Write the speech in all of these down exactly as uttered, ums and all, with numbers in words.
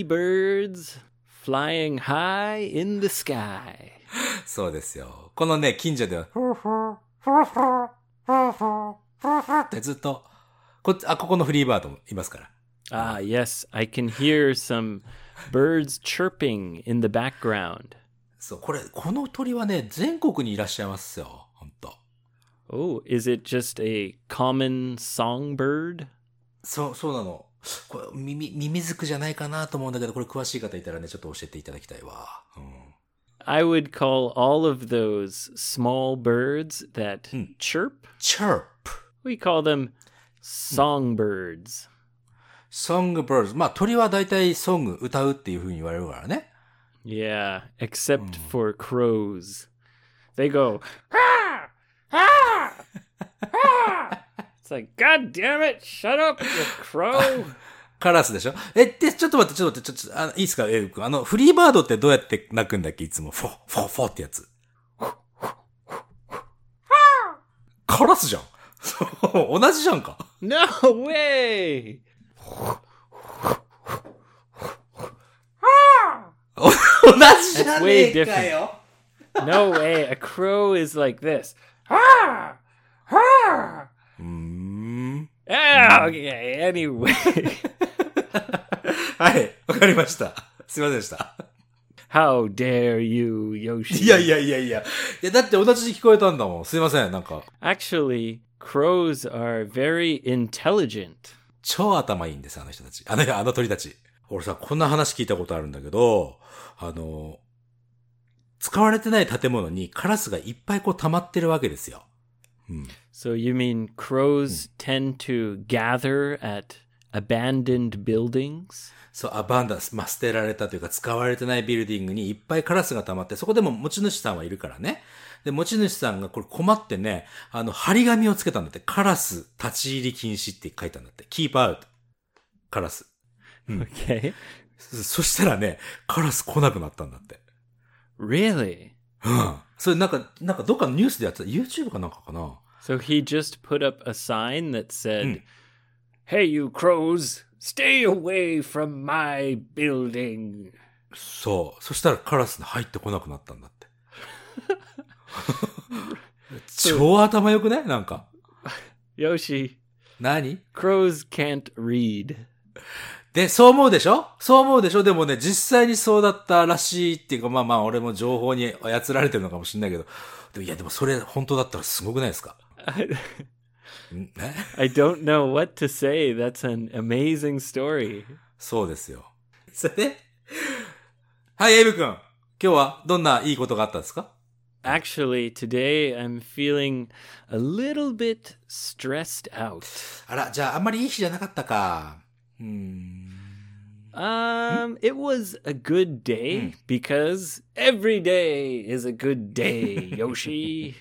pretty birds flying high in the sky. そうですよ。このね、近所では、ってずっと、こ、あ、ここのフリーバードもいますから。 Ah, yes, I can hear some birds chirping in the background. そう、これ、この鳥はね、全国にいらっしゃいますよ。ほんと。 Oh, is it just a common songbird? そう、そうなの。これ、耳、ミミズクじゃないかなと思うんだけど、これ詳しい方いたらね、ちょっと教えていただきたいわ。うん、 I would call all of those small birds that chirp. chirp. We call them songbirds. songbirds. まあ、鳥は大体ソング、歌うっていう風に言われるからね。 Yeah, except for crows. They go, ah, ah, ah. It's like, God damn it, shut up, you crow. カラスでしょえ、で、ちょっと待って、ちょっと待って、ちょっと、あの、いいですか、エイブ君。あの、フリーバードってどうやって鳴くんだっけいつも。フォ、フォ、フォってやつ。カラスじゃん。同じじゃんか。 No way! 同じじゃねえかよ。 No way, a crow is like this. うーん。 Ah, okay, anyway. はい、わかりました。すいませんでした。 How dare you, Yoshi? いやいやいやいや。いや、だって同じに聞こえたんだもん。すいません、なんか。 Actually, crows are very intelligent. 超頭いいんです、あの人たち。あの、あの鳥たち。俺さ、こんな話聞いたことあるんだけど、あの、使われてない建物にカラスがいっぱいこう溜まってるわけですよ。うん、 So you mean crows tend to gather at abandoned buildings? そう、アバンダンス、まあ、捨てられたというか使われてないビルディングにいっぱいカラスが溜まって、そこでも持ち主さんはいるからね。で、持ち主さんがこれ困ってね、あの、張り紙をつけたんだって。カラス立ち入り禁止って書いたんだって。keep out. カラス。うん、 Okay. そ, そしたらね、カラス来なくなったんだって。 Really? うん。それなんか、なんかどっかのニュースでやってた。YouTube かなんかかな。 So he just put up a sign that said, Hey, you crows, stay away from my building. そう。そしたらカラスに入ってこなくなったんだって。超頭良くねなんか。 Yoshi. 何 Crows can't read. で、そう思うでしょそう思うでしょでもね、実際にそうだったらしいっていうか、まあまあ、俺も情報に操られてるのかもしれないけど。でもいや、でもそれ本当だったらすごくないですか I don't know what to say. That's an amazing story. そうですよ。それで、はい、エイブ君。今日はどんないいことがあったんですか Actually, today I'm feeling a little bit stressed out. あら、じゃああんまりいい日じゃなかったか。うーん Um, it was a good day because every day is a good day, Yoshi.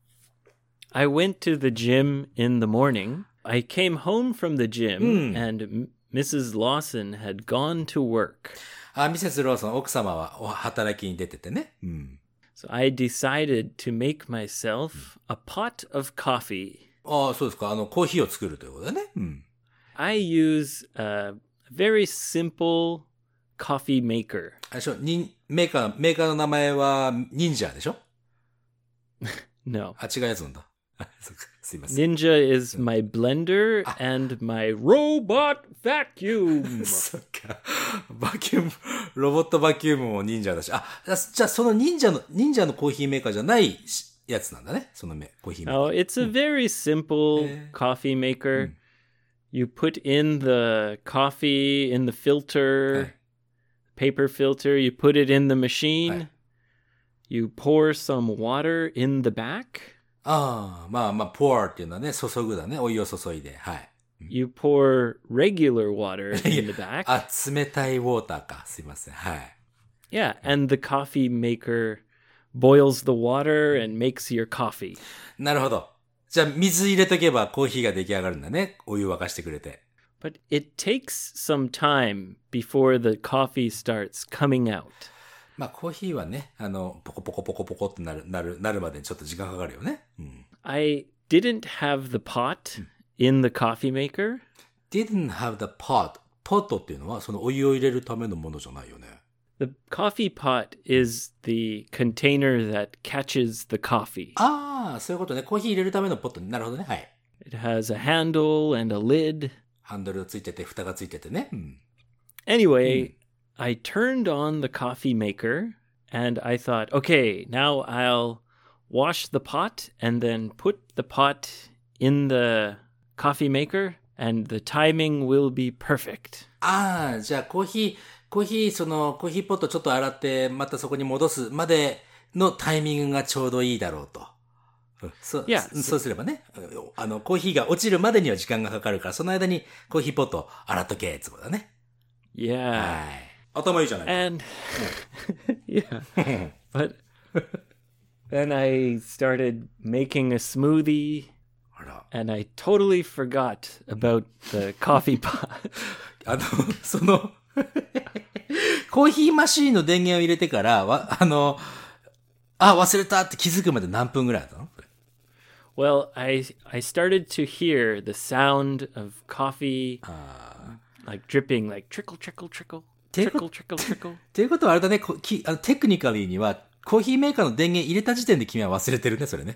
I went to the gym in the morning. I came home from the gym and Missus Lawson had gone to work. あ、ミセスローソン、奥様は働きに出ててね。うん。 So I decided to make myself a pot of coffee. ああ、そうですか。あの、コーヒーを作るということだね。うん。 I use a very simple coffee maker. あれでしょ、にメーカー、メーカーの名前は忍者でしょ No. あ、違うやつなんだ。すいません。 Ninja is my blender and my robot vacuum. そっか。バキューム、ロボットバキュームも忍者だし。あ、じゃあその忍者の、忍者のコーヒーメーカーじゃないやつなんだね。そのメコーヒーメーカー。 Oh, it's a very simple coffee maker. You put in the coffee in the filter, paper filter. You put it in the machine. You pour some water in the back. ああ、まあまあ、pour っていうのはね、注ぐだね。お湯を注いで。はい。 You pour regular water in the back. あ、冷たいウォーターか。すいません。はい。 Yeah, and the coffee maker boils the water and makes your coffee. なるほど。じゃあ、水入れとけばコーヒーが出来上がるんだね。お湯沸かしてくれて。 But it takes some time before the coffee starts coming out. まあ、コーヒーはね、あの、ポコポコポコポコってなる、なる、なるまでにちょっと時間かかるよね。うん。 I didn't have the pot in the coffee maker. didn't have the pot. ポットっていうのは、そのお湯を入れるためのものじゃないよね。 The coffee pot is the container that catches the coffee. ああ、そういうことね。コーヒー入れるためのポットね。なるほどね。はい。 It has a handle and a lid. ハンドルがついてて、蓋がついててね。うん、 Anyway,、うん、I turned on the coffee maker and I thought, okay, now I'll wash the pot and then put the pot in the coffee maker and the timing will be perfect. ああ、じゃあコーヒー、コーヒー、そのコーヒーポットちょっと洗って、またそこに戻すまでのタイミングがちょうどいいだろうと。そ, yeah, そうすればね、あの、コーヒーが落ちるまでには時間がかかるから、その間にコーヒーポット洗っとけ、ってことだね。 Yeah. はい。頭いいじゃないか。 And, yeah. But then I started making a smoothie, and I totally forgot about the coffee pot. あの、その、コーヒーマシーンの電源を入れてから、わあの、あ、忘れたって気づくまで何分ぐらいだったの ？Well, I I started to hear the sound of coffee, like dripping, like trickle, trickle, trickle, trickle, trickle, trickle. っていうことはあれだね、きあのテクニカリーにはコーヒーメーカーの電源入れた時点で君は忘れてるね、それね。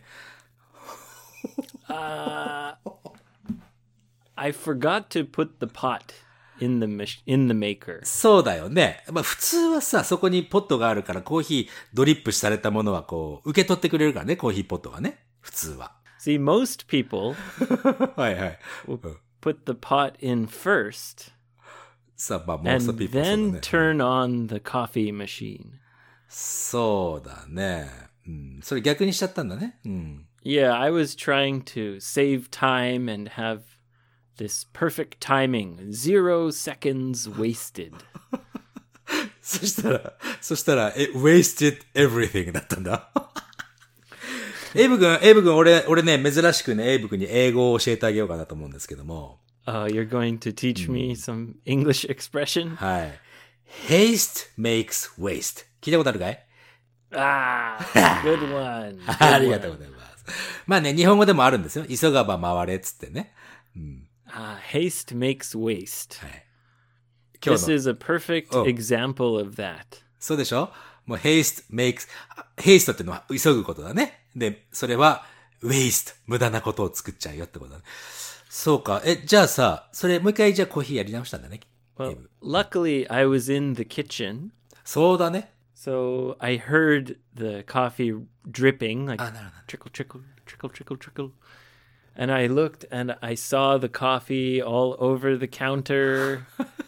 uh, I forgot to put the pot in the in the maker. そうだよね。まあ普通はさ、そこにポットがあるからコーヒードリップされたものはこう受け取ってくれるからね、コーヒーポットがね、普通は。 See, most people はいはい。 will put the pot in first さあ、まあ、most and of people then turn on the coffee machine. そうだね。うん。それ逆にしちゃったんだね。うん。 Yeah, I was trying to save time and have this perfect timing. Zero seconds wasted. そしたら、そしたら、it wasted everything だったんだ。エイブ君、エイブ君、俺、俺ね、珍しくね、エイブ君に英語を教えてあげようかなと思うんですけども。 Uh, you're going to teach me some English expression? はい。haste makes waste. 聞いたことあるかい？ Ah, good one. ありがとうございます。まあね、日本語でもあるんですよ。急がば回れっつってね。うん、 ah, haste makes waste. はい。 This is a perfect example of that. そうでしょ？もう haste makes, haste ってのは急ぐことだね。で、それは waste, 無駄なことを作っちゃうよってことだね。そうか。え、じゃあさ、それもう一回じゃあコーヒーやり直したんだね。 Well, luckily I was in the kitchen. そうだね。 So I heard the coffee dripping, like trickle, trickle, trickle, trickle, trickle. And I looked and I saw the coffee all over the counter.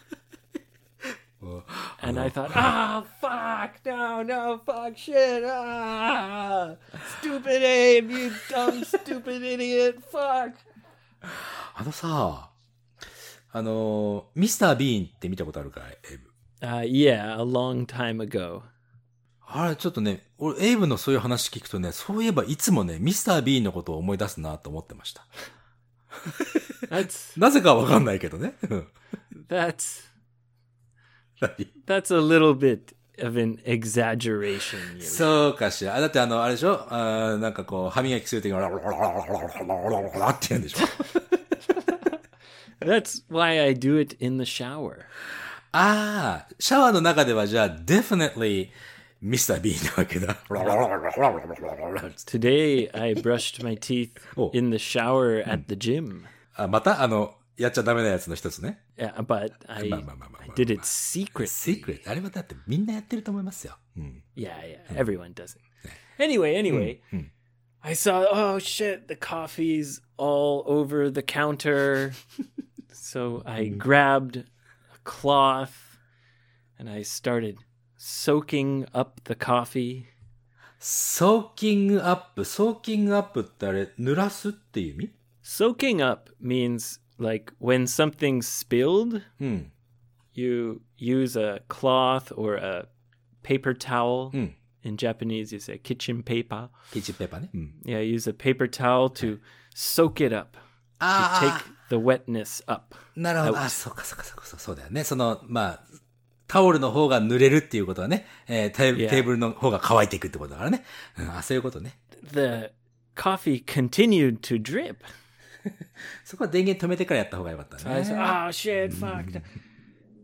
And I thought, ah, fuck, no, no, fuck, shit, ah, stupid Abe, you dumb, stupid idiot, fuck. あのさ、あの、ミスター・ビーンって見たことあるかい、エイブ ？Uh, yeah, a long time ago. あれ、ちょっとね、俺、エイブのそういう話聞くとね、そういえばいつもね、ミスター・ビーンのことを思い出すなと思ってました。 That's, なぜかわかんないけどね。 that's, that's a little bit of an exaggeration. そうかしら。だってあの、あれでしょあなんかこう、歯磨きするときに、ララララララララって言うんでしょ That's why I do it in the shower. ああ、シャワーの中ではじゃあ、definitely ミスター B なわけだ。 Today I brushed my teeth in the shower at the gym. あ、またあの、やっちゃダメなやつの一つね。 Yeah, but I, I did it secretly. Secret. あれはだってみんなやってると思いますよ。うん、 yeah, yeah. Everyone does it. Anyway, anyway. うんうん、 I saw, oh shit, the coffee's all over the counter. So I grabbed a cloth and I started soaking up the coffee. Soaking up. Soaking up ってあれ、濡らすっていう意味？ Soaking up means like when something's spilled, うん、 you use a cloth or a paper towel. うん、 In Japanese, you say kitchen paper. Kitchen paper ね。うん、 Yeah, use a paper towel to soak it up. To take the wetness up. なるほど。あ、そうかそうかそうかそうだよね。その、まあ、タオルの方が濡れるっていうことはね、えー、テー、 yeah. テーブルの方が乾いていくってことだからね。うん、あ、そういうことね。 The coffee continued to drip. そこは電源止めてからやった方がよかったね。 So I said, oh shit, fuck.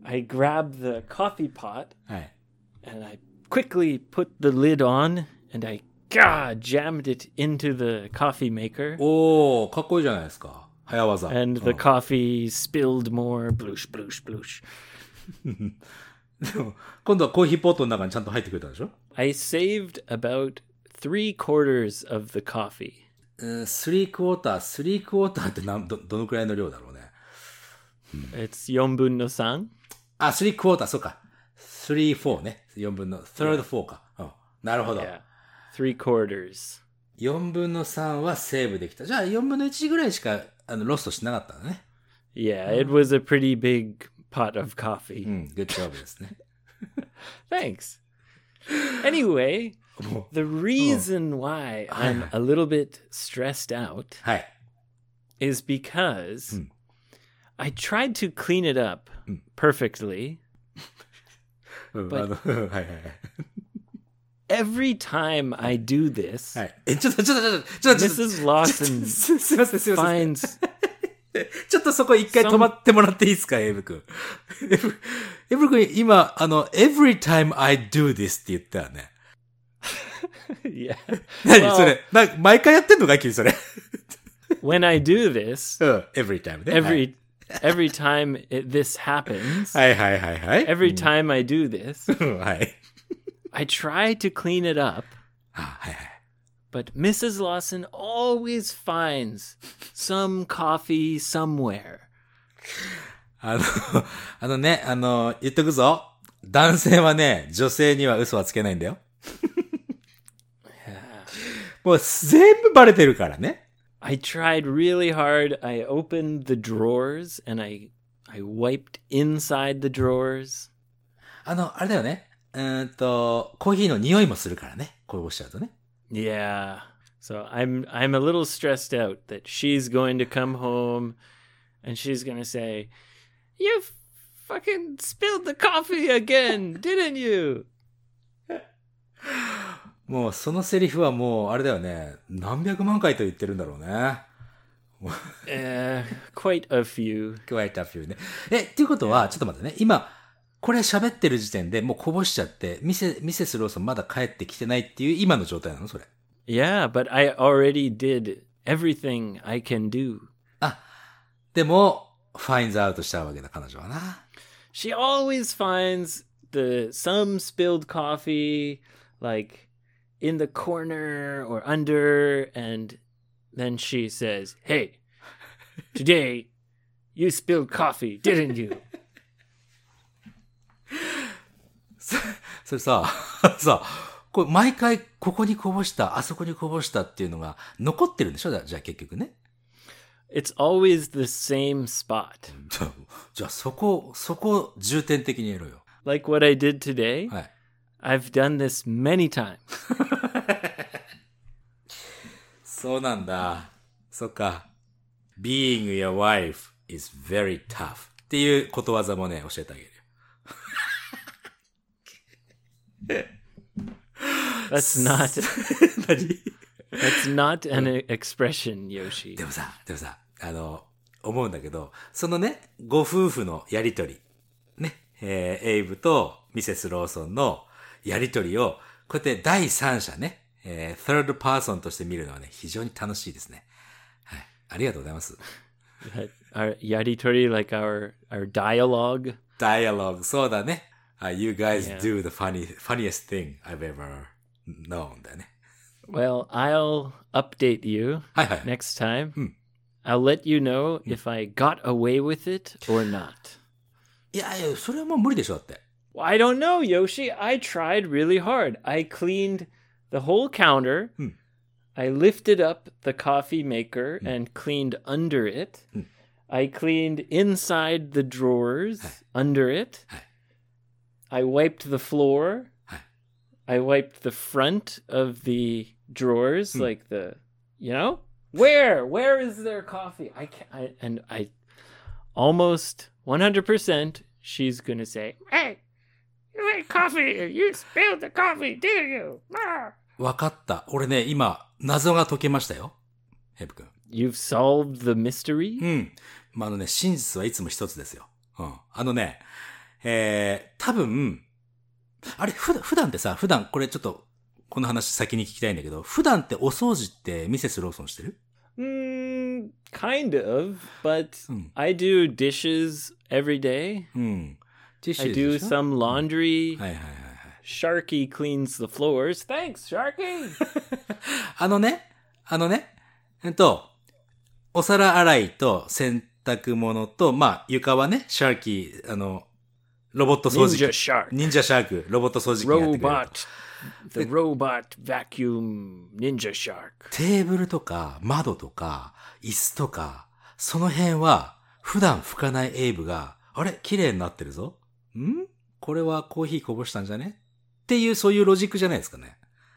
I grab the coffee pot はい。 and I quickly put the lid on and I gah, jammed it into the coffee maker. おー、かっこいいじゃないですか。早技。 And the coffee spilled more. Bloosh, bloosh, bloosh. でも今度はコーヒーポットの中にちゃんと入ってくれたでしょ？ I saved about three quarters of the coffee. うん、スリークォーター、スリークォーターってなんど、どのくらいの量だろうね。 It'sよんぶんのさん. あ、スリークォーター、そうか。スリー、フォーね。よんぶんの、サードフォーか。うん。なるほど。 Yeah. Three quarters. よんぶんのさんはセーブできた。じゃあよんぶんのいちぐらいしかあのロストしなかったんだね。 Yeah, it was a pretty big pot of coffee. うん、グッジョブですね。 Thanks. Anyway, the reason why I'm a little bit stressed out はい。 is because I tried to clean it up perfectly. うん、 But- あの、はいはいはい。 Every time I do this, はい。え、ちょっと、ちょっと、ちょっと、ちょっと、ちょっと Missus Lawson す、すいません、すいません。 finds ちょっとそこ一回止まってもらっていいですか、エイブ君。エイブ、エイブ君、今、あの、every time I do this って言ったよね。 yeah. 何 Well- それな、毎回やってんのか君それ。 When I do this, うん、every time ね。 every every time it, this happens, はいはいはいはい。 every time I do this, うんはい。 I try to clean it up, あ、はいはい。 but Missus Lawson always finds some coffee somewhere. あの、あのね、あの、言っとくぞ。男性はね、女性には嘘はつけないんだよ。もう全部バレてるからね。 I tried really hard. I opened the drawers and I I wiped inside the drawers. あの、あれだよね。うーんと、コーヒーの匂いもするからね。こうおっしゃるとね。 Yeah. So I'm I'm a little stressed out that she's going to come home and she's going to say, "You fucking spilled the coffee again, didn't you?" もうそのセリフはもう、あれだよね。何百万回と言ってるんだろうね。 Uh, quite a few. quite a few ね。え、っていうことは、ちょっと待ってね。今、これ喋ってる時点でもうこぼしちゃって、ミセ、ミセスローソンまだ帰ってきてないっていう今の状態なのそれ。 Yeah, but I already did everything I can do. あ、でも、ファインズアウトしちゃうわけだ、彼女はな。 She always finds the some spilled coffee like in the corner or under, and then she says, "Hey, today you spilled coffee, didn't you?" それさ、さ、これ毎回ここにこぼした、あそこにこぼしたっていうのが残ってるんでしょ？じゃあ結局ね。 It's always the same spot. じゃあ、じゃあそこ、そこ重点的にやろうよ。 Like what I did today. はい。 I've done this many times. そうなんだ。そっか。being your wife is very tough っていうことわざもね、教えてあげるよ。 That's not 何 that's not an expression, Yoshi. でもさ、でもさ、あの、思うんだけど、そのね、ご夫婦のやりとり、ね、えーエイブとミセスローソンのやりとりを、こうやって第三者ね、えー、third person として見るのはね、非常に楽しいですね。はい。ありがとうございます。 Our yaritori, like our our dialogue. dialogue そうだね。Uh, you guys Yeah. do the funny, funniest thing I've ever known だね。 Well, I'll update you はいはい。 next time. I'll let you know if I got away with it or not. いやいや、それはもう無理でしょ、だって。 Well, I don't know, Yoshi. I tried really hard. I cleaned the whole counter. I lifted up the coffee maker and cleaned under it. I cleaned inside the drawers under it. I wiped the floor. I wiped the front of the drawers, like the, you know? Where? Where is there coffee? I can't. I, and I almost one hundred percent she's going to say, "Hey, you made coffee. You spilled the coffee, didn't you?" Ah. わかった。俺ね、今、謎が解けましたよ。ヘブ君。 You've solved the mystery? うん。まあ、あのね、真実はいつも一つですよ。うん。あのね、 えー、多分、あれ、普段、普段ってさ、普段、これちょっと、この話先に聞きたいんだけど、普段ってお掃除ってミセスローソンしてる？ Mm, kind of, but Hmm. I do dishes every day. うん。ティッシュ I で do しょ？ some laundry. はいはいはいはい。 Sharky cleans the floors. Thanks, Sharky. あのね、あのね、えっと、お皿洗いと洗濯物と、まあ、床はね、シャーキー、あの、ロボット掃除機。 Ninja Shark. 忍者シャーク、ロボット掃除機がやってくれると。 Robot. The robot vacuum ninja shark. テーブルとか、窓とか、椅子とか、その辺は、普段拭かないエイブが、あれ綺麗になってるぞ。んこれはコーヒーこぼしたんじゃねっていう、そういうロジックじゃないですかね。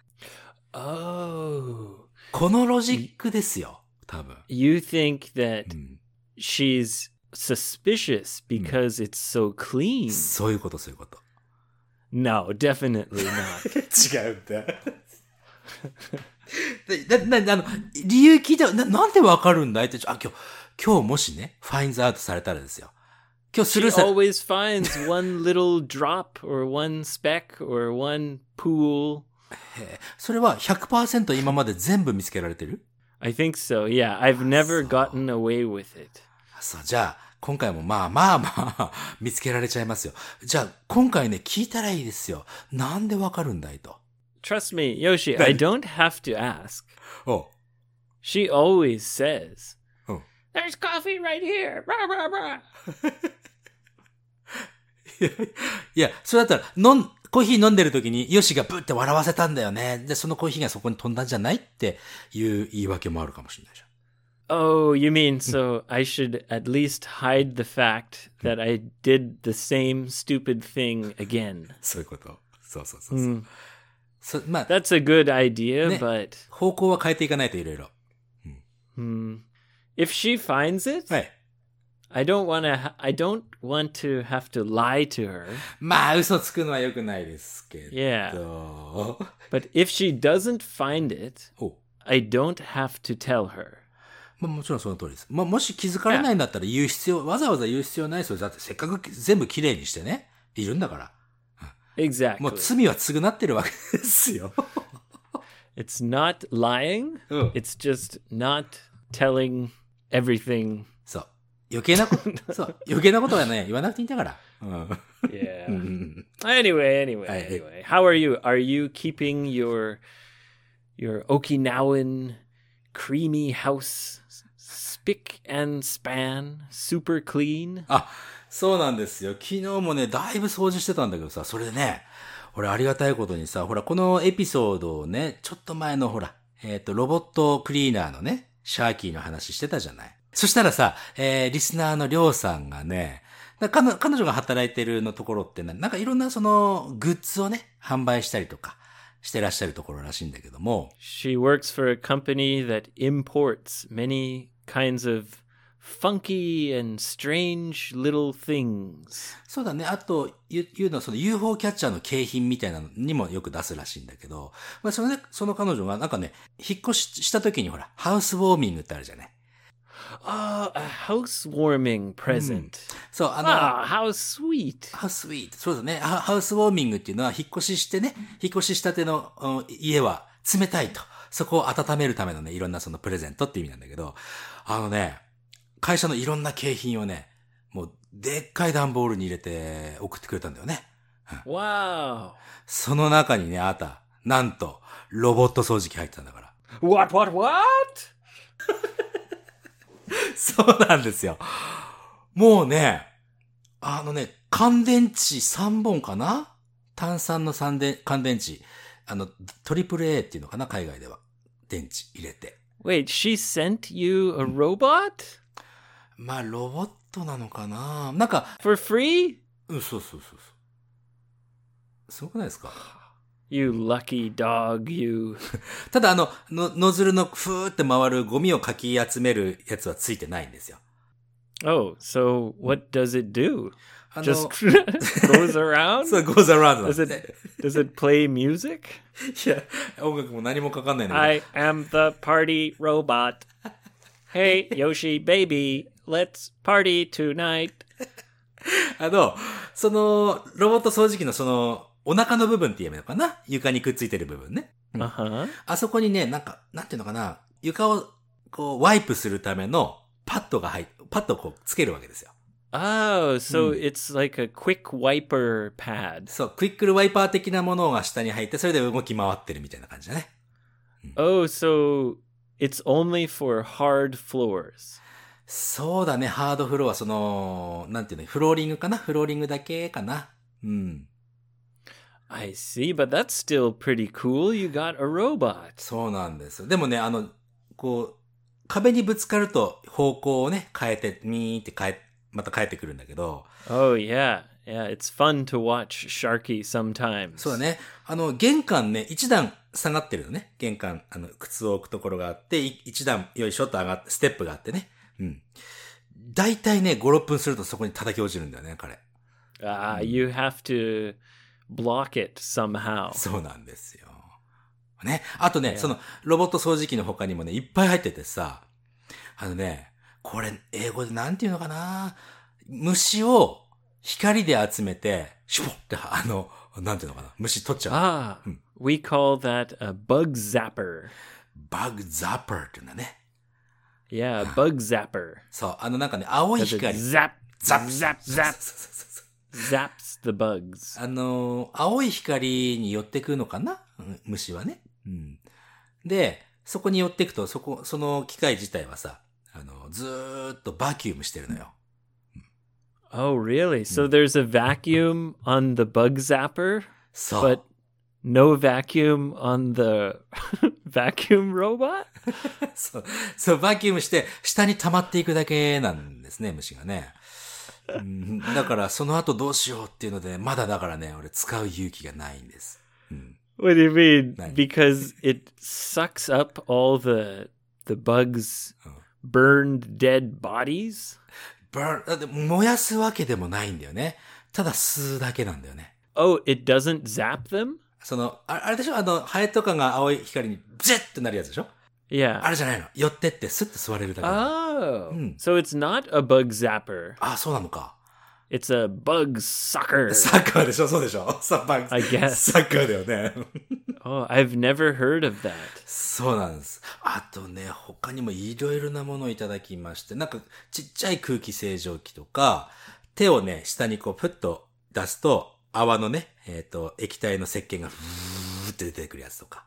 Oh. このロジックですよ、多分。 You think that うん、 she's suspicious because it's so clean? そういうこと、そういうこと。 No, definitely not. 違うんだ。な、な、あの、理由聞いたな、なんでわかるんだいって、あ、今日、今日もしね、ファインズアウトされたらですよ。今日ス She ルーされ、 always finds one little drop or one speck or one pool. それは ひゃくパーセント 今まで全部見つけられてる？ I think so, yeah. I've never gotten away with it. そう、じゃあ、今回もまあまあまあ、見つけられちゃいますよ。じゃあ、今回ね、聞いたらいいですよ。なんでわかるんだいと。 Trust me, Yoshi, I don't have to ask. お She always says, うん。 There's coffee right here. Rah, rah, rah. いや、それだったら、飲ん、コーヒー飲んでる時に、ヨシがブーって笑わせたんだよね。で、そのコーヒーがそこに飛んだんじゃないっていう言い訳もあるかもしれないじゃん。 Oh, you mean so I should at least hide the fact that I did the same stupid thing again? そういうこと。そうそうそうそう。 Mm. そまあ、 That's a good idea, ね、 but 方向は変えていかないといろいろ。 hmm, if she finds it, はい。 I don't want to. Ha- I don't want to have to lie to her. まあ、嘘つくのは良くないですけど。 Yeah. But if she doesn't find it, お I don't have to tell her. まあ、もちろんその通りです。まあ、もし気づかれないんだったら言う必要、わざわざ言う必要ないですよ。だってせっかく全部きれいにしてね、いるんだから。 Exactly. もう罪は償ってるわけですよ。 It's not lying. うん。 It's just not telling everything. そう。余計なこと、そう。余計なことはね、言わなくていいんだから。うん。 Yeah. うん。 Anyway, anyway, Aye. anyway. How are you? Are you keeping your your Okinawan creamy house spick and span super clean? あ、そうなんですよ。昨日もね、だいぶ掃除してたんだけどさ、それでね、俺ありがたいことにさ、ほら、このエピソードをね、ちょっと前のほら、えっと、ロボットクリーナーのね、シャーキーの話してたじゃない。そしたらさ、えー、リスナーのりょうさんがね、彼女、彼女が働いてるのところってね、なんかいろんなその、グッズをね、販売したりとか、してらっしゃるところらしいんだけども。 She works for a company that imports many kinds of funky and strange little things. そうだね。あと、言うのはその ユーフォー キャッチャーの景品みたいなのにもよく出すらしいんだけど、まあそのね、その彼女がなんかね、引っ越しした時にほら、ハウスウォーミングってあるじゃない。 Oh, a housewarming present. そう、あの、 Ah, how sweet. ハウスウィート。そうだね。ハハウスウォーミングっていうのは引っ越ししてね、引っ越ししたてのうん家は冷たいと。そこを温めるためのね、いろんなそのプレゼントって意味なんだけど、あのね、会社のいろんな景品をね、もうでっかい段ボールに入れて送ってくれたんだよね。 Wow. その中にね、あった、なんと、ロボット掃除機入ってたんだから。 What, what, what? そうなんですよ。もうね、あのね、乾電池さんぼんかな？炭酸の乾電乾電池。あの、トリプル A っていうのかな、海外では。電池入れて。 Wait, she sent you a robot? まあ、ロボットなのかな？なんか、 For free? うん、そうそうそうそう。すごくないですか？ You lucky dog, you. ただあの、の、ノズルのふーって回るゴミをかき集めるやつはついてないんですよ。 Oh, so what does it do? あの、 Just goes around? そう、goes around なん Does です it does it play music? いや、音楽も何もかかんないんだけど。 I am the party robot. Hey, Yoshi baby, let's party tonight. あの、 その、ロボット掃除機のその、お腹の部分って言えばいいのかな、床にくっついてる部分ね。うん Uh-huh. あそこにね、なんか、なんていうのかな、床をこう、ワイプするためのパッドが入っ、パッドをこうつけるわけですよ。 Oh, so Mm. it's like a quick wiper pad. そう、クイックルワイパー的なものが下に入って、それで動き回ってるみたいな感じだね。 Oh, so it's only for hard floors. そうだね、ハードフロア、その、なんていうの、フローリングかな、フローリングだけかな。うん。 I see, but that's still pretty cool. You got a robot. そうなんです。でもね、あの、こう、壁にぶつかると方向をね、変えて、ミーって変え、また変えてくるんだけど。 Oh, yeah. Yeah, it's fun to watch Sharky sometimes. そうだね。あの、玄関ね、一段下がってるのね。玄関、あの、靴を置くところがあって、い一段、よいしょと上がって、ステップがあってね。うん。だいたいね、ご、ろっぷんするとそこに叩き落ちるんだよね、彼。 Ah, you have to block it somehow. そうなんですよ。ね。あとね、 Yeah. その、ロボット掃除機の他にもね、いっぱい入っててさ、あのね、これ、英語でなんていうのかな、虫を光で集めて、シュポって、あの、なんていうのかな、虫取っちゃう。 Ah, we call that a bug zapper. バグザッパーっていうんだね。 Yeah, bug zapper. そう、あのなんかね、青い Does it 光。 zap, ザ zap, ッ zap, そうそうそうそう zaps the bugs. あのー、青い光に寄ってくのかな、うん虫はね。うん。で、そこに寄ってくと、そこ、その機械自体はさ、あの、ずーっとバキュームしてるのよ。 Oh, really? So there's a vacuum on the bug zapper, そう。 but no vacuum on the vacuum robot? そう、そう、バキュームして、下に溜まっていくだけなんですね、虫がね。うん、だから、その後どうしようっていうので、まだだからね、俺使う勇気がないんです。うん、 What do you mean? Nice. Because it sucks up all the the bugs' Oh. burned dead bodies? バー、だって燃やすわけでもないんだよね。ただ吸うだけなんだよね。 Oh, it doesn't zap them? その、ああれでしょ、あの、ハエとかが青い光にジェッってなるやつでしょ。 Yeah. あれじゃないの。寄ってってスッと座れるだけなの。 Oh. Hmm. So it's not a bug zapper. あ、そうなのか。 It's a bug sucker. サッカーでしょ、そうでしょ。サッカー。 I guess. サッカーだよね。 Oh, I've never heard of that. そうなんです。あとね、他にもいろいろなものをいただきまして、なんかちっちゃい空気清浄機とか、手をね、下にこうプッと出すと、泡のね、えっと、液体の石鹸がふーって出てくるやつとか。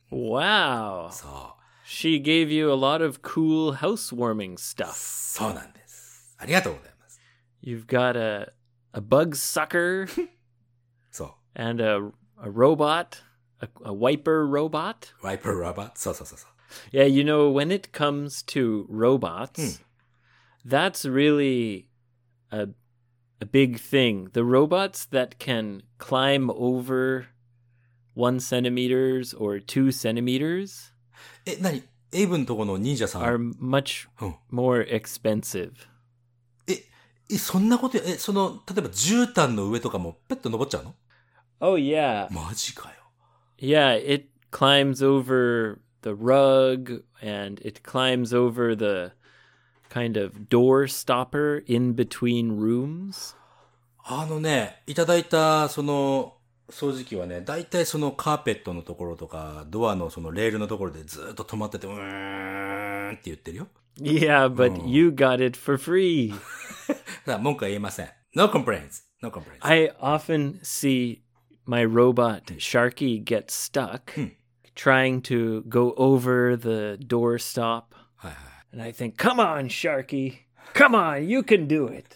Wow. そう。 She gave you a lot of cool housewarming stuff. そうなんです。ありがとうございます。 You've got a a bug sucker そう。 and a a robot, a, a wiper robot. ワイパーラバー。そうそうそうそう。 Yeah, you know, when it comes to robots, that's really a a big thing. The robots that can climb over one centimeters or two centimeters え、なにエイブンとこの忍者さん。 are much うん。 more expensive. え、え、そんなことや、え、その、例えば絨毯の上とかもペット登っちゃうの？ Oh yeah. マジかよ。 Yeah, it climbs over the rug and it climbs over the kind of door stopper in between rooms. あのね、いただいた、その、掃除機はね、だいたいそのカーペットのところとか、ドアのそのレールのところでずっと止まってて、うーんって言ってるよ。 Yeah, but you got it for free. さあ、文句は言えません。No complaints. No complaints. I often see my robot Sharky get stuck trying to go over the doorstop. はいはい。 And I think, come on, Sharky. Come on, you can do it.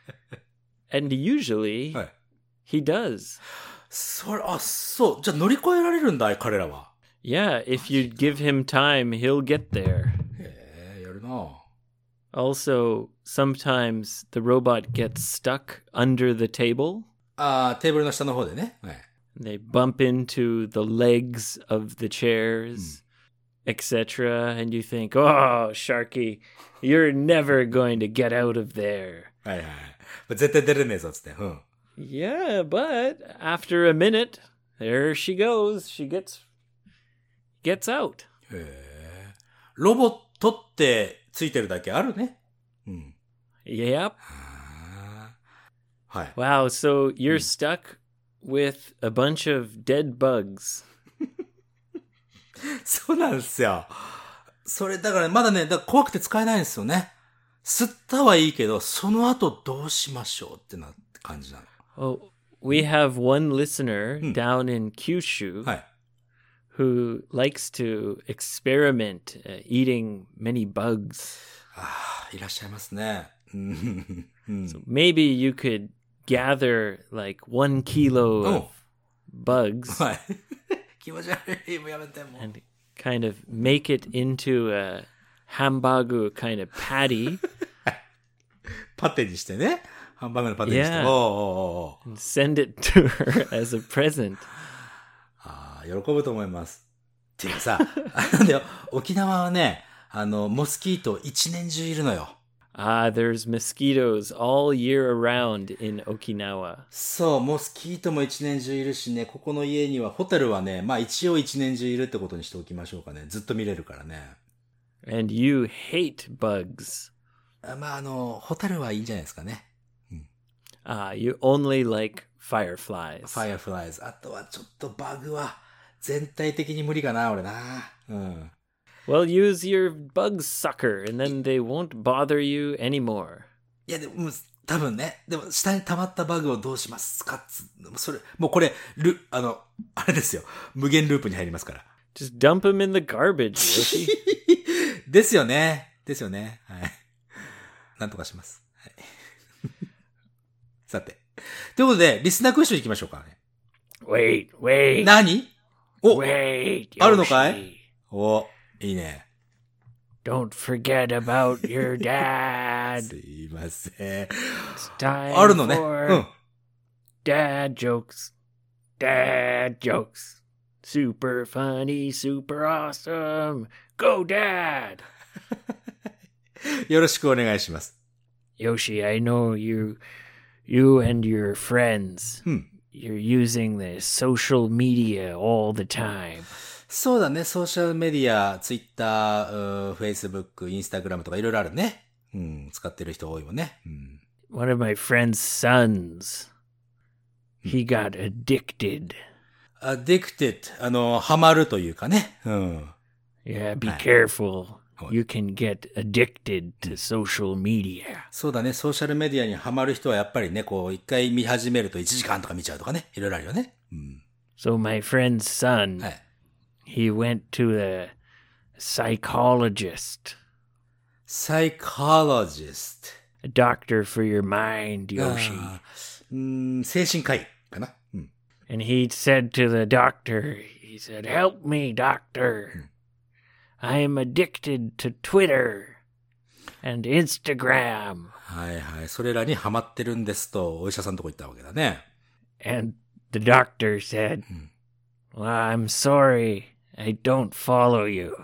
And usually はい。 he does. それ、あ、そう。じゃあ乗り越えられるんだ、彼らは。 Yeah, if you give him time, he'll get there. へえ、やるな。 Also, sometimes the robot gets stuck under the table. あー、テーブルの下の方でね。はい。 They bump into the legs of the chairs, et cetera. And you think, oh, Sharky, you're never going to get out of there. はいはい。絶対出れねえぞ、つって。うん。 Yeah, but after a minute, there she goes. She gets gets out. へえ。ロボットってついてるだけあるね。うん。 Yep. あはい。 Wow, so you're stuck with a bunch of dead bugs. そうなんですよ。それ、だからまだね、だから怖くて使えないんですよね。吸ったはいいけど、その後どうしましょうってなって感じなの。 Oh, we have one listener down in Kyushu はい。 who likes to experiment uh, eating many bugs. ああ、いらっしゃいますね。うん So maybe you could gather like one kilo of bugs はい。気持ち悪い。もうやめてもう。 and kind of make it into a hamburger kind of patty パテにしてね。ハンバーグのパテにして。 Yeah. おうおうおうおう。 and send it to her as a present. ああ、喜ぶと思います。っていうかさ、あのね、沖縄はね、あの、モスキート一年中いるのよ。 Ah, there's mosquitoes all year around in Okinawa. そう、モスキートも一年中いるしね、ここの家には、ホタルはね、まあ一応一年中いるってことにしておきましょうかね。ずっと見れるからね。 And you hate bugs. あまあ、あの、ホタルはいいんじゃないですかね。 Ah, you only like fireflies. ファイアフライズ。あとはちょっとバグは、全体的に無理かな、俺な。うん。 Well, use your bug sucker and then they won't bother you anymore. いや、でも、多分ね、でも、下に溜まったバグをどうしますかつ、それ、もうこれ、ル、あの、あれですよ。無限ループに入りますから。 Just dump them in the garbage, Yoshi. ですよね。ですよね。はい。なんとかします。はい。さて。ということで、リスナークエスチョン行きましょうかね。 Wait, wait. 何？お、 Wait, あるのか Yoshi. い？お、いいね。 Don't forget about your dad. すいません。 It's time あるのね。う for ん。 dad jokes. Dad jokes. Super funny, super awesome. Go, Dad! よろしくお願いします。 Yoshi, I know you, you and your friends, うん。 you're using the social media all the time. そうだね。ソーシャルメディア、ツイッター、フェイスブック、インスタグラムとかいろいろあるね。うん。使ってる人多いもんね。うん。 One of my friend's sons, he got addicted. addicted. あの、ハマるというかね。うん。 Yeah, be はい。 careful. はい。 You can get addicted to social media. そうだね。ソーシャルメディアにハマる人はやっぱりね、こう、一回見始めるといちじかんとか見ちゃうとかね。いろいろあるよね。うん。 So my friend's son, はい。 he went to a psychologist, psychologist. a doctor for your mind, Yoshi. あー、うーん、精神科医かな。うん。 And he said to the doctor, he said, "Help me, doctor. I am addicted to Twitter and Instagram." はいはい。それらにハマってるんですと、お医者さんのとこ行ったわけだね。 And the doctor said, "Well, I'm sorry. I don't follow you."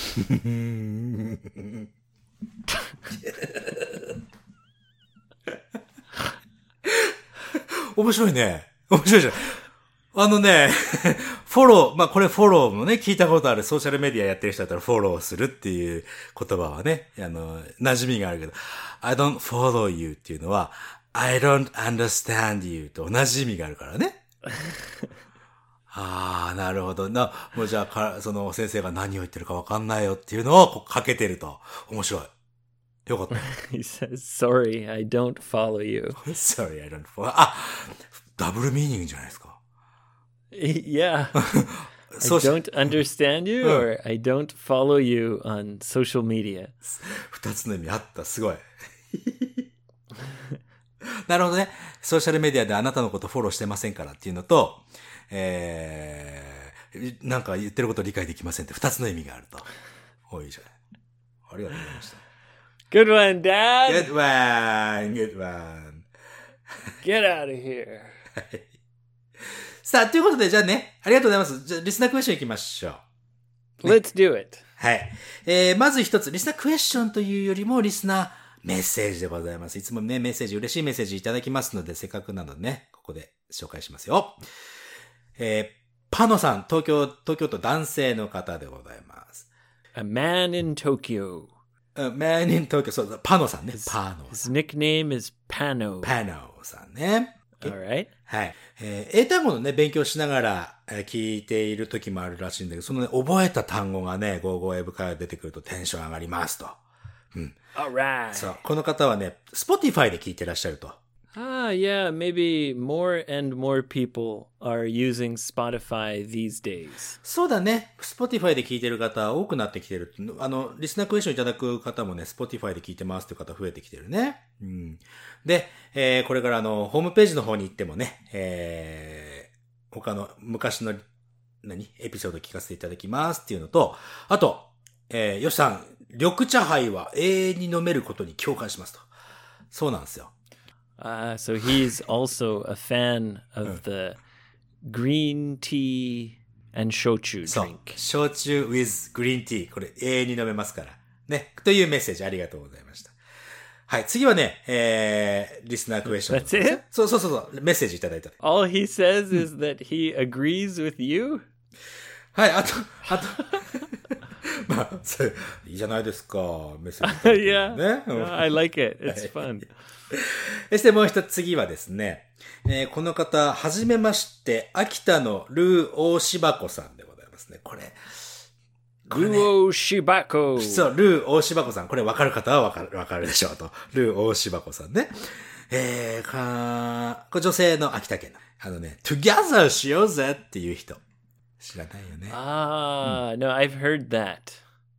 面白いね。面白いじゃん。あのね、フォロー、まあ、これフォローもね、聞いたことあるソーシャルメディアやってる人だったらフォローするっていう言葉はね、あの、馴染みがあるけど、I don't follow you っていうのは、I don't understand you と同じ意味があるからね。ああ、なるほど。な、もうじゃあか、その先生が何を言ってるかわかんないよっていうのをこうかけてると。面白い。よかった。 He says, "Sorry, I don't follow you." Sorry, I don't follow. あ、ダブルミーニングじゃないですか。 Yeah. I そうし、 don't understand you or I don't follow you on social media. 二つの意味あった。すごい。なるほどね。ソーシャルメディアであなたのことフォローしてませんからっていうのと、えー、なんか言ってること理解できませんって二つの意味があると。おいいじゃない。ありがとうございました。 Good one, Dad. Good one, good one. Get out of here. さあ、ということで、じゃあね、ありがとうございます。じゃあ、リスナークエスチョン行きましょう。 Let's do it. はい。えー、まず一つ、リスナークエスチョンというよりも、リスナーメッセージでございます。いつもね、メッセージ、嬉しいメッセージいただきますので、せっかくなのでね、ここで紹介しますよ。えー、パノさん、東京、東京都男性の方でございます。 A man in Tokyo. うん、Man in Tokyo、そうだ、パノさんね。パノ His nickname is Pano. パノさんね。 All right. はい。えー英単語のね、勉強しながら、えー聞いている時もあるらしいんだけど、そのね、覚えた単語がね、ゴーゴーエブ会話出てくるとテンション上がりますと。 All right. そう。この方はね、Spotify で聞いてらっしゃると。 Ah, yeah, maybe more and more people are using Spotify these days. そうだね。Spotify で聞いてる方多くなってきてる。あの、リスナークエスチョンいただく方もね、Spotify で聞いてますっていう方増えてきてるね。うん。で、えー、これからあの、ホームページの方に行ってもね、えー、他の昔の、何エピソード聞かせていただきますっていうのと、あと、えー、よしさん、緑茶杯は永遠に飲めることに共感しますと。そうなんですよ。 Ah, so he's also a fan of the green tea and shochu そう drink. 焼酎 with green tea。これ永遠に飲めますから。ね。というメッセージありがとうございました。はい。次はね、えー、リスナークエスチョン。 That's it? そうそうそうそう。メッセージいただいた。 All he says is that he agrees with you? はい。あと、あと。まあ、それ、いいじゃないですか。メッセージいただいて Yeah. ね。うん No, I like it. It's fun. そしてもう一つ次はですね、えーこの方、はじめまして、秋田のルー大柴子さんでございますね。これ、これね Luo Shibako. そう、ルー大柴子さん。これ分かる方は分かる、分かるでしょうと。ルー大柴子さんね。えー、かこれ女性の秋田県の。あのね、together しようぜっていう人。知らないよね。 Ah, no, I've heard that.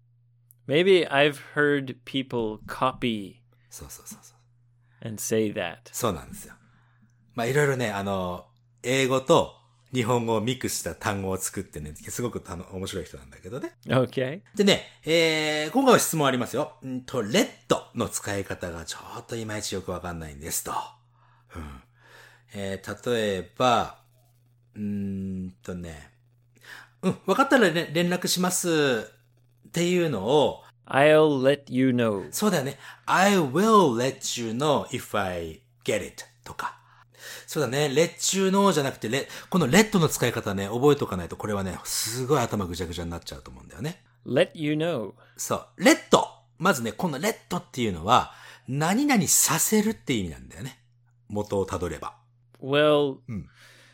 Maybe I've heard people copy そうそうそうそう。 and say that. そうなんですよ。まあ、いろいろね、あの、英語と日本語をミックスした単語を作ってね、すごくたの面白い人なんだけどね。 Okay. でね、えー、今回は質問ありますよ。んと、レッドの使い方がちょっといまいちよくわかんないんですと。うんえー、例えば、うーんとね、うん、わかったら、ね、連絡しますっていうのを、 I'll let you know. そうだよね。I will let you know if I get it とか。そうだね。let you know じゃなくて、let この let の使い方ね、覚えておかないと、これはね、すごい頭ぐちゃぐちゃになっちゃうと思うんだよね。 Let you know. そう。let まずね、この let っていうのは、何々させるって意味なんだよね。元をたどれば。 Well, Mm.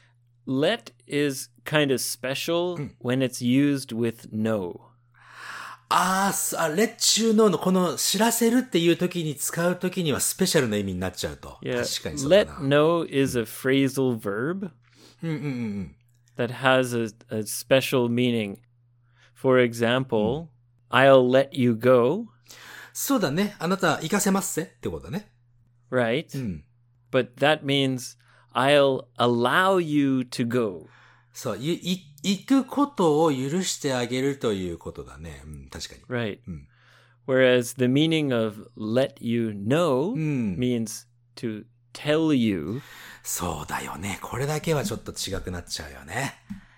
let is kind of special when it's used with no. あーすあ、let you know のこの知らせるっていう時に使う時にはスペシャルな意味になっちゃうと。 Yeah. 確かにそうだ Let な。 know is a phrasal verb うんうんうんうん。 that has a, a special meaning. For example, I'll let you go, そうだね。あなた行かせますせってことだね。 right? うん。 But that means I'll allow you to go. そう、い、い、行くことを許してあげるということだね。うん、確かに。 Right. Mm. Whereas the meaning of let you know Mm. means to tell you. そうだよね。これだけはちょっと違くなっちゃうよね。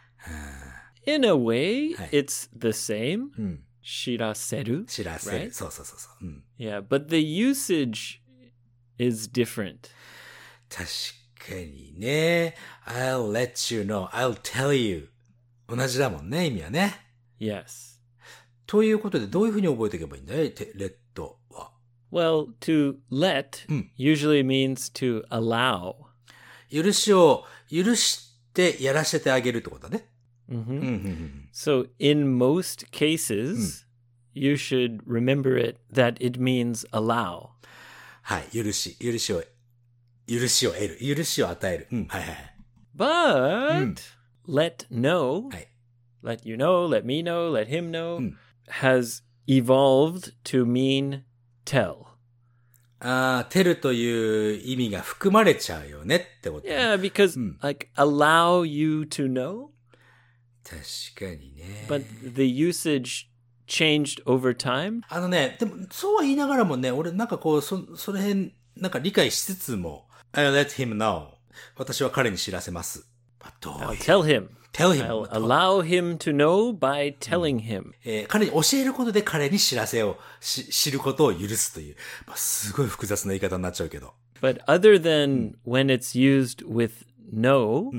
In a way, Hey. it's the same. うん。 Shiraseru. 知らせる。 Right. そうそうそうそう。うん。 Yeah, but the usage is different. 確かにね。I'll let you know. I'll tell you. 同じだもんね、意味はね。 Yes. ということで、どういうふうに覚えていけばいいんだいてレッドは。 Well, to let Mm. usually means to allow. 許しを、許してやらせてあげるってことだね。 hmm うんうんうん。 So, in most cases, you should remember it that it means allow. はい。許し。許しを、許しを得る。許しを与える。うん。はいはいはい。 But let know, はい。 let you know, let me know, let him know, Mm. has evolved to mean tell. ああ、テルという意味が含まれちゃうよねってこと。 Yeah, because like allow you to know, 確かにね。 but the usage changed over time. あのね、でも、そうは言いながらもね、俺なんかこう、そ、その辺、なんか理解しつつも、I'll let him know. 私は彼に知らせます。まあ、どう I'll いう tell him. tell him. I'll allow him to know by telling him. えー彼に教えることで彼に知らせをし、知ることを許すという、まあ、すごい複雑な言い方になっちゃうけど。 But other than when it's used with no,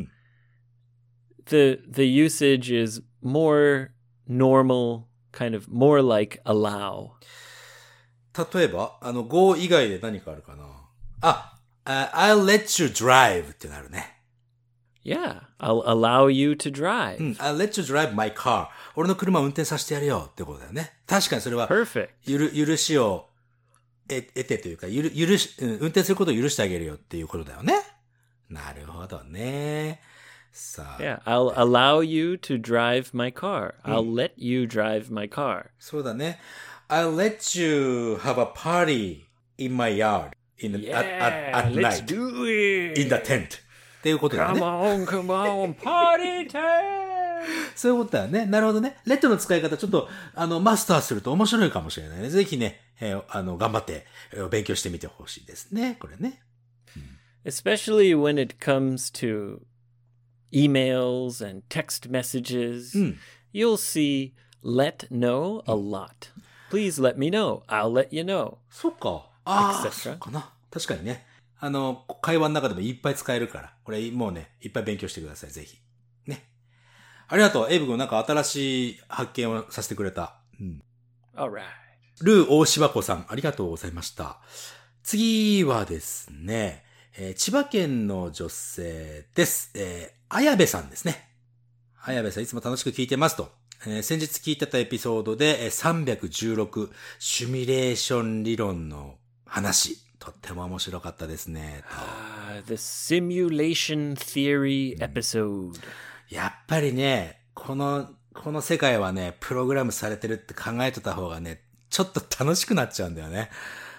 the the usage is more normal, kind of more like allow. 例えば、あの、go 以外で何かあるかな。あ、uh, I'll let you drive ってなるね。 Yeah, I'll allow you to drive. うん、I'll let you drive my car. 俺の車を運転させてやるよってことだよね。確かにそれは、 Perfect. ゆる、許しを得得てというか、ゆる、許し、うん、運転することを許してあげるよっていうことだよね。なるほどね。さあ。 Yeah, I'll allow you to drive my car. I'll let you drive my car. そうだね。I'll let you have a party in my yard in the, Yeah, at, at, at let's night do it. in the tent. っていうことだよね。 Come on, come on, party time! そういうことだよね。なるほどね。レッドの使い方ちょっと、あの、マスターすると面白いかもしれないね。ぜひね、えー、あの、頑張って、えー、勉強してみてほしいですね。これね。 Especially when it comes to emails and text messages, うん。 you'll see let know a lot. Please let me know. I'll let you know. そっか。ああ、 et cetera. そうかな。確かにね。あの、会話の中でもいっぱい使えるから。これもうね、いっぱい勉強してください。ぜひ。ね。ありがとう。エイブ君なんか新しい発見をさせてくれた。うん。 All right. ルー大柴子さん、ありがとうございました。次はですね、えー、千葉県の女性です。えー、綾部さんですね。綾部さんいつも楽しく聞いてますと。えー、先日聞いてたエピソードで、えー、さんびゃくじゅうろくシミュレーション理論の話。とっても面白かったですね。 Uh, the simulation theory episode. やっぱりね、この、この世界はね、プログラムされてるって考えとった方がね、ちょっと楽しくなっちゃうんだよね。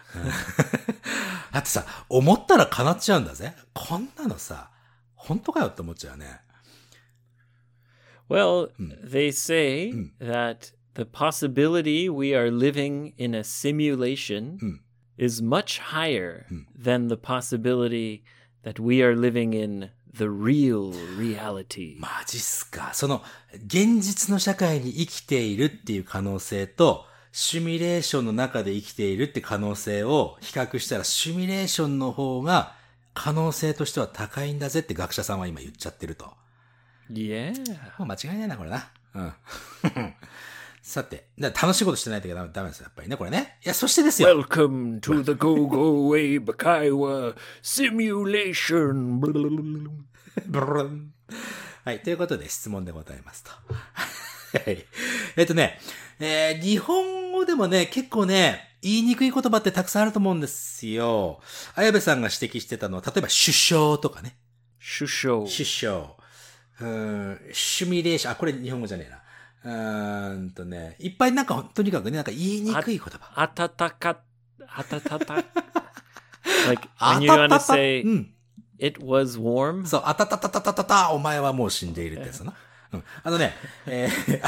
だってさ、思ったら叶っちゃうんだぜ。こんなのさ、本当かよって思っちゃうね。 Well, they say that the possibility we are living in a simulation is much higher than the possibility that we are living in the real reality. マジっすか。その、現実の社会に生きているっていう可能性と、シミュレーションの中で生きているって可能性を比較したら、シミュレーションの方が可能性としては高いんだぜって学者さんは今言っちゃってると。 Yeah. もう間違いないな、これな。うん。さて、楽しいことしてないとダメダメですよ、やっぱりね、これね。いや、そしてですよ。 Welcome to the Go-Go Way Bakaiwa Simulation. はい、ということで質問でございますと。はい。えっとね、えー、日本語でもね、結構ね、言いにくい言葉ってたくさんあると思うんですよ。綾部さんが指摘してたのは、例えば首相とかね。 首相。 首相。うーん、シミュレーション、あ、これ日本語じゃねえな。うーんとね、いっぱいなんか、とにかくね、なんか言いにくい言葉。 あたたか、あたたた。like, when you want to say, it was warm? そう、あたたたたたたた、お前はもう死んでいるってやつな。うん。あのね、えー、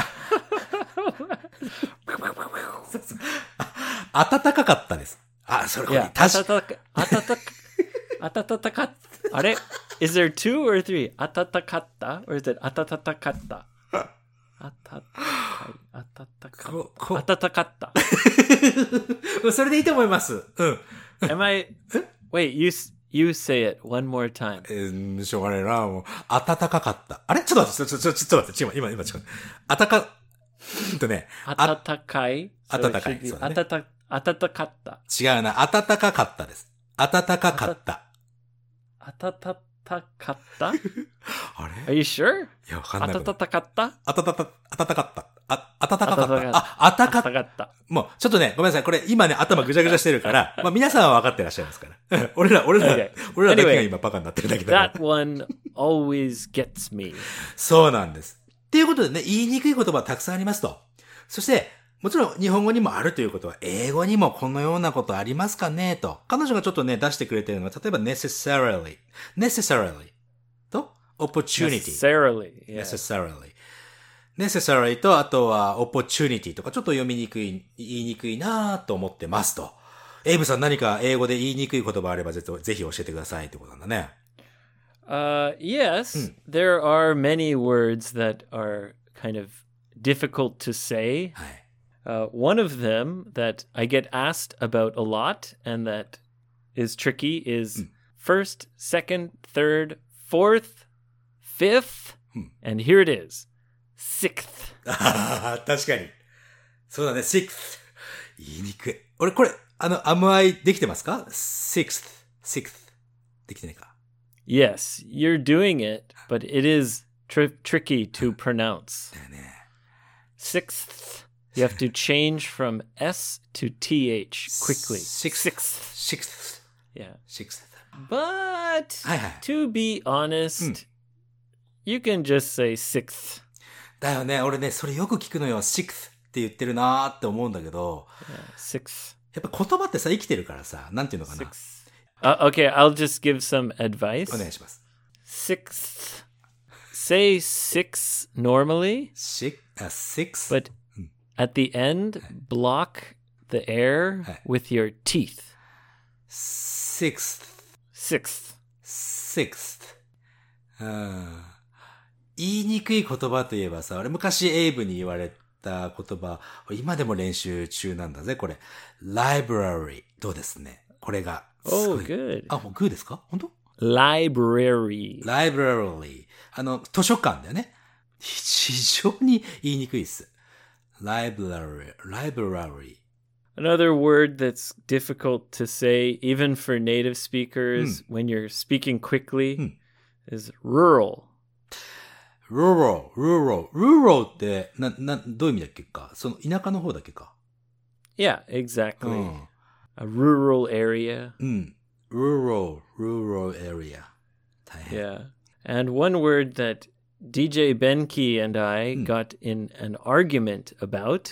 そうそうあ、暖かかったです。あ、それこれ、 確かに。あたたか、あたたか、あたたか、あれ ?Is there two or three? あたたかった ?or is it あたたたかったあたたかい、あたたかった。あたたかった。 それでいいと思います。うん。 Am I, wait, you, you say it one more time. えー、しょうがないな、もう。暖かかった。あれちょっと待って、ちょ、ちょ、ちょっと待って、今、今、今、違う。あたか、うんとね。 あたたかい。 あたたかい。そうだね。 あたた、あたたかった。 違うな、あたたかかったです。あたたかかった。 あたたたかったあれ Are you sure? いや、わかんない。 あたたたかったあたたた、あたたかった。あ、あたたかかった。あ、あたかった。もう、ちょっとね、ごめんなさい。これ、今ね、頭ぐちゃぐちゃしてるから、まあ皆さんは分かってらっしゃいますから。俺ら、俺ら、okay. 俺らだけが今バカになってるだけだから。That one always gets me. そうなんです。っていうことでね、言いにくい言葉はたくさんありますと。そして、もちろん日本語にもあるということは、英語にもこのようなことありますかねと。彼女がちょっとね、出してくれてるのは、例えば necessarily, necessarily と opportunity. necessarily, yeah. necessarily. necessarily と、あとは opportunity とか、ちょっと読みにくい、言いにくいなと思ってますと。エイブさん何か英語で言いにくい言葉あればぜひ教えてくださいってことなんだね。 Uh, yes, there are many words that are kind of difficult to say. はい。 Uh, one of them that I get asked about a lot and that is tricky is first, second, third, fourth, fifth, and here it is, sixth. 確かに。そうだね、sixth. 言いにくい。俺これ、 あの、am I できてますか ?sixth, sixth. できてないか。 Yes, you're doing it, but it is tr- tricky to pronounce. だよね。 Sixth. You have to change from S to T H quickly. Sixth. Sixth. sixth. Yeah. sixth. But はいはい。 to be honest, you can just say sixth. だよね。俺ね、それよく聞くのよ。sixth って言ってるなーって思うんだけど、 Yeah, sixth. やっぱ言葉ってさ、生きてるからさ、なんていうのかな。 Sixth. Uh, okay, I'll just give some advice. お願いします。 Sixth. Say six normally, six, あ、six? but at the end, block the air with your teeth. sixth, Sixth. sixth. うん。言いにくい言葉といえばさ、俺昔エイブに言われた言葉、今でも練習中なんだぜ、これ。library。どうですね。これが。 Oh, good. あ、もうグーですか本当 Library. library。あの、図書館だよね。非常に言いにくいです。library, library. Another word that's difficult to say, even for native speakers, when you're speaking quickly, is rural. rural, rural, rural って、な、な、どういう意味だっけかその田舎の方だっけか Yeah, exactly. うん。 A rural area. うん。rural, rural area. 大変。 Yeah. And one word that D J Benki and I got in an argument about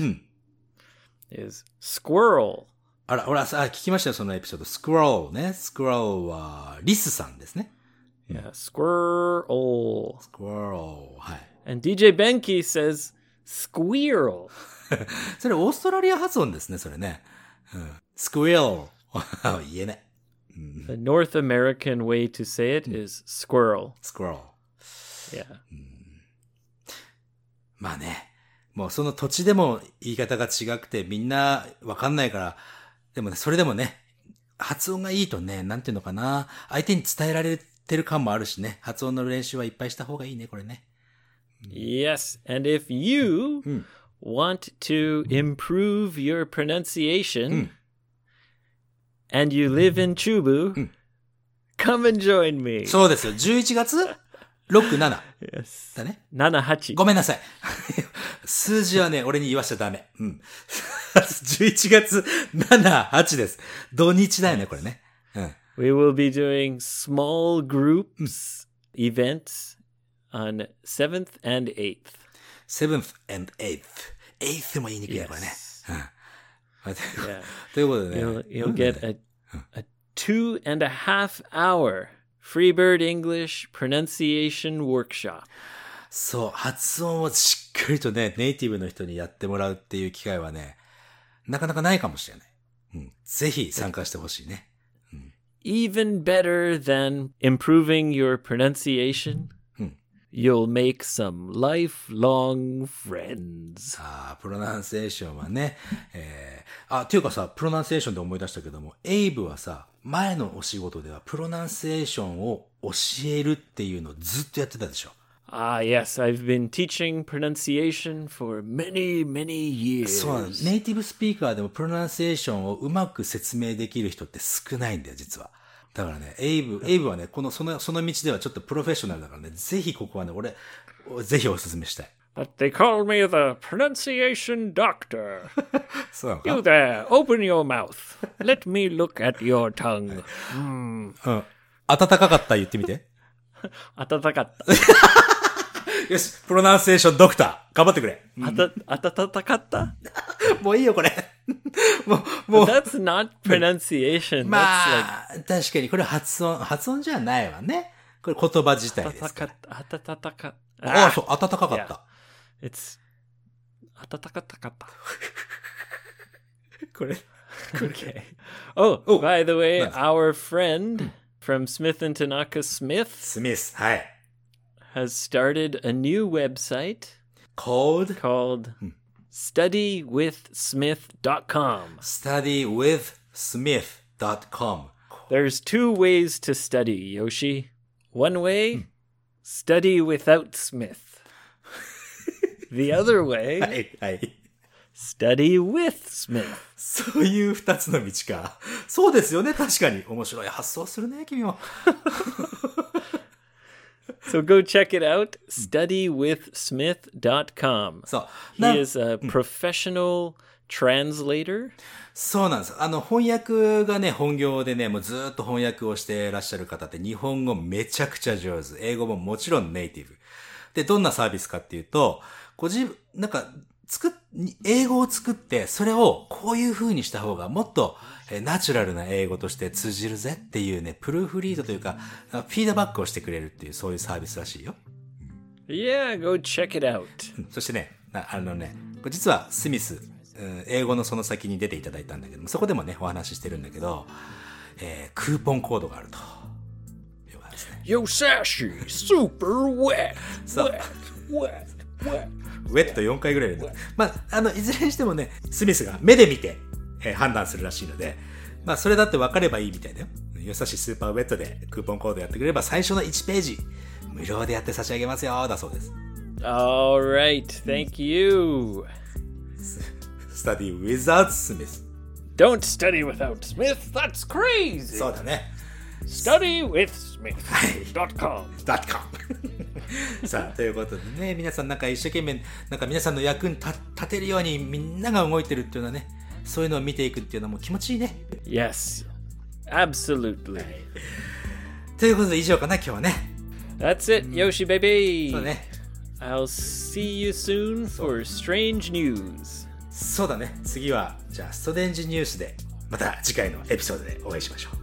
is squirrel. あら、俺はさ、聞きましたよ、そのエピソード。squirrel ね。squirrel は、リスさんですね。 Yeah, squirrel. squirrel。はい。 And D J Benki says squirrel. それオーストラリア発音ですね、それね。うん。squirrel。言えない。 The North American way to say it is squirrel. squirrel。 Yeah. まあね。もうその土地でも言い方が違くてみんなわかんないから、でもね、それでもね、発音がいいとね、なんていうのかな、相手に伝えられてる感もあるしね、発音の練習はいっぱいした方がいいね、これね。 Yes. And if you want to improve your pronunciation and you live in Chubu, come and join me. そうですよ。じゅういちがつろく、なな Yes. だね。 ななはち. ごめんなさい。数字はね、俺に言わしちゃダメ。うん。じゅういちがつなな、はちです。土日だよね、これね。うん。 We will be doing small groups events on seventh and eighth. seventh and eighth. eighth も言いにくいね、これね。 Yes. うん。 Yeah. ということでね。 You'll, you'll get a, a two and a half hour Freebird English pronunciation workshop. そう、発音をしっかりとね、ネイティブの人にやってもらうっていう機会はね、なかなかないかもしれない。うん。ぜひ参加してほしいね。 Even better than improving your pronunciation, you'll make some lifelong friends. ああ、プロナンセーションはね、えー、あ、っていうかさ、プロナンセーションで思い出したけども、エイブはさ、前のお仕事ではプロナンセーションを教えるっていうのをずっとやってたでしょ。 Ah, yes, I've been teaching pronunciation for many, many years. そうなの。ネイティブスピーカーでもプロナンセーションをうまく説明できる人って少ないんだよ、実は。だからね、エイブ、エイブはね、この、その、その道ではちょっとプロフェッショナルだからね、ぜひここはね、俺、ぜひお勧めしたい。 But they call me the pronunciation doctor. そうなのか You there, open your mouth. Let me look at your tongue. うん。暖かかった言ってみて。 暖かった。 よし、プロナンセーションドクター、頑張ってくれ。 あた、暖かったもういいよ、これ。もう、もう。 That's not pronunciation. ま That's あ、確かにこれ発音、発音じゃないわね。これ言葉自体 like ですから。 暖かった。暖かああ、そう、暖かかった It's 暖かったかった。 これ。 Okay. Oh, Oh, by the way, nice. our friend from Smith and Tanaka Smith スミス、はい。 has started a new website called called study with smith dot com. study with smith dot com. There's two ways to study, Yoshi. One way, study without Smith. The other way, はい、はい。 Study with Smith. そういう二つの道か。そうですよね、確かに。面白い発想するね、君も。 So go check it out, study with smith dot com. そう。 He is a professional translator. そうなんです。あの、翻訳がね、本業でね、もうずっと翻訳をしていらっしゃる方って日本語めちゃくちゃ上手。英語ももちろんネイティブ。で、どんなサービスかっていうと、ご自分、なんか、作っ、英語を作って、それをこういう風にした方がもっとえナチュラルな英語として通じるぜっていうね、プルーフリードというか、フィードバックをしてくれるっていう、そういうサービスらしいよ。 Yeah, go check it out. そしてね、あのね、これ実はスミス、英語のその先に出ていただいたんだけども、そこでもね、お話ししてるんだけど、えー、クーポンコードがあると。いうことですね。 Yo, Sashi, super wet, So- wet, wet, wet. ウェットよんかいぐらい入れて。まあ、あの、いずれにしてもね、スミスが目で見て、えー判断するらしいので、まあ、それだって分かればいいみたいだよ。よさしスーパーウェットでクーポンコードやってくれれば、最初のいちページ、無料でやって差し上げますよ、だそうです。 All right, thank you. Study without Smith. Don't study without Smith. That's crazy. そうだね。 Study with Smith dot com. ダットコムさあ、ということでね、皆さんなんか一生懸命、なんか皆さんの役に立立てるようにみんなが動いてるっていうのはね、そういうのを見ていくっていうのも気持ちいいね。 Yes, absolutely. ということで以上かな、今日はね。 That's it, Yoshi baby. そうだね。 I'll see you soon for strange news. そうだね。次は、じゃあ、ストレンジニュースで、また次回のエピソードでお会いしましょう。